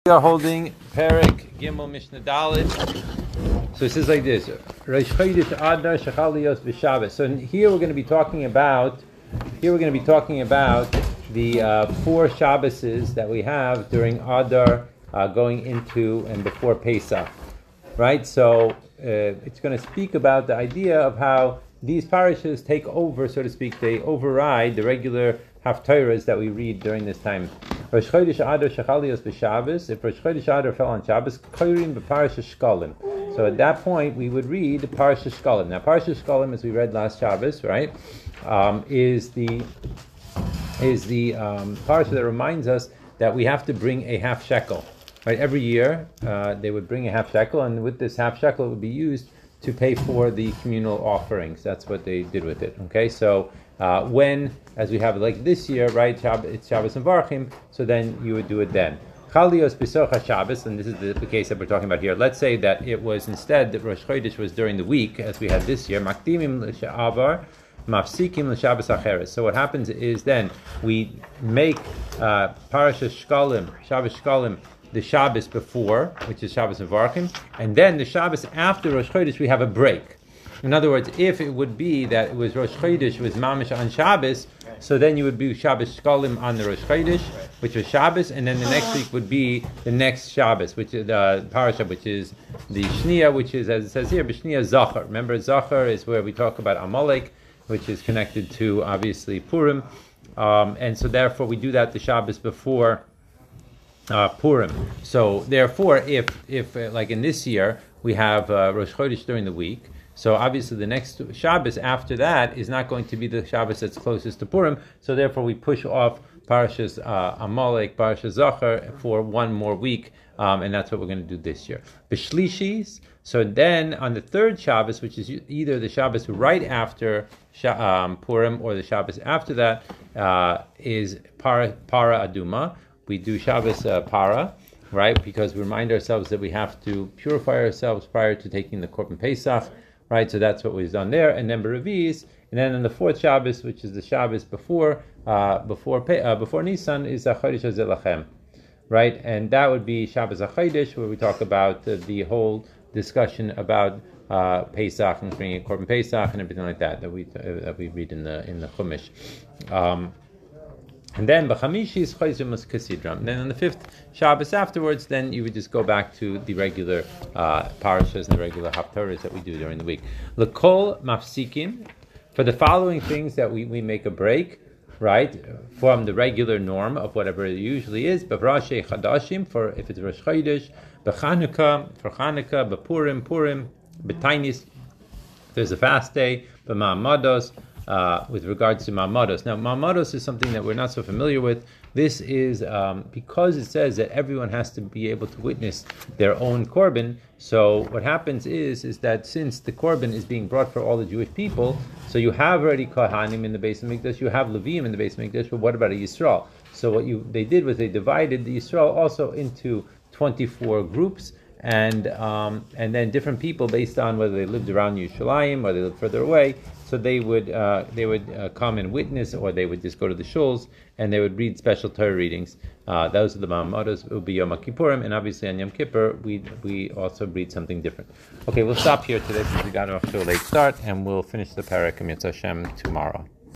We are holding Perek Gimel Mishnah Dalet. So it says like this: Rosh Chodesh Adar Shechal Lios B'Shabbos. So here we're going to be talking about the 4 Shabboses that we have during Adar, going into and before Pesach, right? So it's going to speak about the idea of how these parishes take over, so to speak. They override the regular haftarahs that we read during this time. Rosh Chodesh Adar Shechal Lios B'Shabbos. If Rosh Chodesh Adar fell on Shabbos, Koirim b'Parashat Shkalim. So at that point, we would read Parashat Shkalim. Now, Parashat Shkalim, as we read last Shabbos, right, is the parasha that reminds us that we have to bring a half shekel. Right, every year they would bring a half shekel, and with this half shekel, it would be used to pay for the communal offerings. That's what they did with it. Okay, so when, as we have like this year, right, it's Shabbos and Varchim, so then you would do it then. Chalios B'Socha Shabbos, and this is the case that we're talking about here. Let's say that it was instead that Rosh Chodesh was during the week, as we had this year. Makdimim l'Shavar, Mafsikim l'Shabbos Acheres. So what happens is then we make Parashat Shkalim, Shabbos Shkalim, the Shabbos before, which is Shabbos and Varchim, and then the Shabbos after Rosh Chodesh we have a break. In other words, if it would be that it was Rosh Chodesh was Mamish on Shabbos, so then you would do Shabbos Shkalim on the Rosh Chodesh, which was Shabbos, and then the next week would be the next Shabbos, which is the Parasha, which is the Shnia, which is, as it says here, B'Shnia Zachar. Remember, Zachar is where we talk about Amalek, which is connected to, obviously, Purim, and so therefore we do that the Shabbos before Purim. So therefore, if like in this year, we have Rosh Chodesh during the week, so obviously the next Shabbos after that is not going to be the Shabbos that's closest to Purim, so therefore we push off Parashas Amalek, Parashas Zachar for one more week, and that's what we're going to do this year. B'Shlishis, so then on the third Shabbos, which is either the Shabbos right after Purim or the Shabbos after that, is Para Aduma. We do Shabbos Para, right? Because we remind ourselves that we have to purify ourselves prior to taking the Korban Pesach, right? So that's what we've done there. And then B'Revi'is, and then on the fourth Shabbos, which is the Shabbos before Nisan, is Chodesh Hazeh Lachem, right? And that would be Shabbos HaChodesh, where we talk about the whole discussion about Pesach and bringing Korban Pesach and everything like that we read in the Chumash. And then B'Chamishi is Chayzimus Kasidram. Then on the 5th Shabbos afterwards, then you would just go back to the regular parashas and the regular haftarahs that we do during the week. L'kol mafsikim, for the following things that we make a break, right, from the regular norm of whatever it usually is. B'Rashei Chadashim, for if it's Rosh Chodesh, B'Chanukah, for Chanukah, B'Purim, Purim, B'Tainis, there's a fast day, B'Ma'amados, with regards to Ma'amados. Now, Ma'amados is something that we're not so familiar with. This is because it says that everyone has to be able to witness their own Korban. So what happens is that since the Korban is being brought for all the Jewish people, so you have already Kohanim in the Beis Hamikdash, you have Leviim in the Beis Hamikdash, but what about a Yisrael? So what they did was they divided the Yisrael also into 24 groups, and then different people based on whether they lived around Yerushalayim or they lived further away. So they would come and witness, or they would just go to the shuls and they would read special Torah readings. Those are the Ma'amados. It would be Yom Kippurim, and obviously on Yom Kippur we also read something different. Okay, we'll stop here today because we got off to a late start, and we'll finish the Perek Mitzvah Hashem tomorrow.